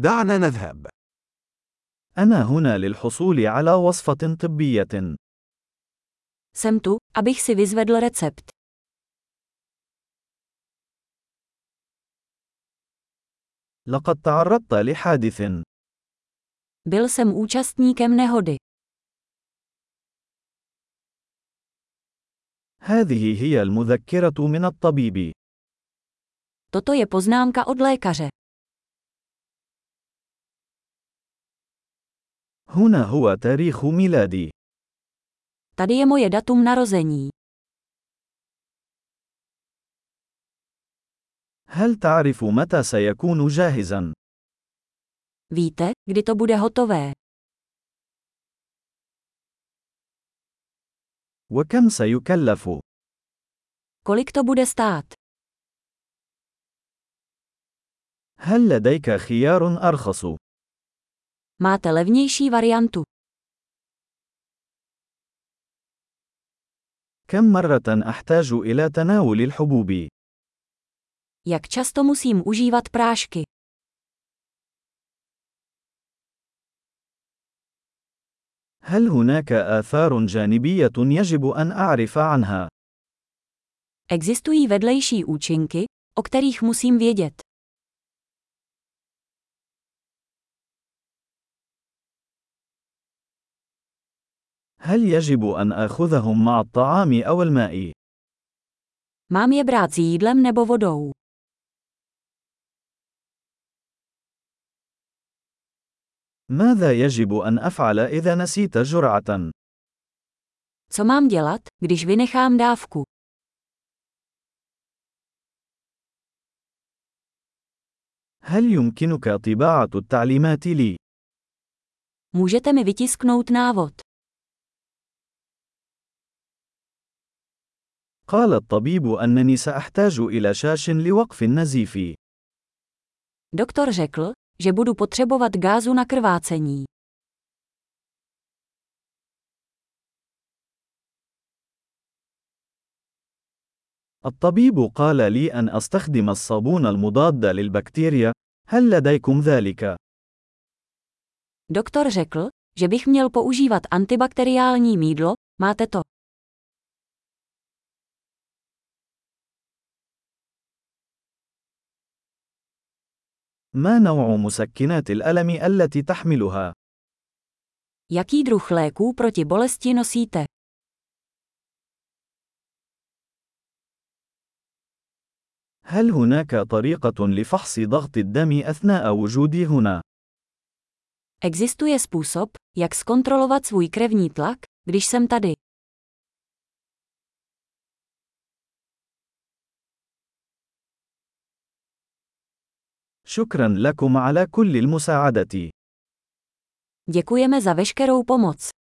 دعنا نذهب. أنا هنا للحصول على وصفة طبية. Jsem tu, abych si vyzvedl recept. لقد تعرضت لحادث. Byl jsem účastníkem nehody. هذه هي المذكرة من الطبيب. Toto je poznámka od lékaře. هنا هو تاريخ ميلادي. Tady je moje datum narození. هل تعرف متى سيكون جاهزا؟ Víte, kdy to bude hotové? وكم سيكلف؟ Kolik to bude stát? هل لديك خيار أرخص؟ Máte levnější variantu. كم مرة أحتاج إلى تناول الحبوب؟ Jak často musím užívat prášky? هل هناك آثار جانبية يجب أن أعرف عنها؟ Existují vedlejší účinky, o kterých musím vědět. هل يجب أن آخذهم مع الطعام أو الماء؟ Mám je brát s jídlem nebo vodou? ماذا يجب أن أفعل إذا نسيت جرعة؟ Co mám dělat, když vynechám dávku? هل يمكنك طباعة التعليمات لي؟ Můžete mi vytisknout návod. قال الطبيب أنني سأحتاج إلى شاش لوقف النزيف. Doktor řekl, že budu potřebovat gázu na krvácení. الطبيب قال لي أن أستخدم الصابون المضاد للبكتيريا. هل لديكم ذلك؟ Doktor řekl, že bych měl používat antibakteriální mýdlo, máte to? ما نوع مسكنات الألم التي تحملها؟ Jaký druh léků proti bolesti nosíte? هل هناك طريقة لفحص ضغط الدم أثناء وجودي هنا؟ Existuje způsob, jak zkontrolovat svůj krevní tlak, když jsem tady. شكرا لكم على كل المساعدة. Děkujeme za veškerou pomoc.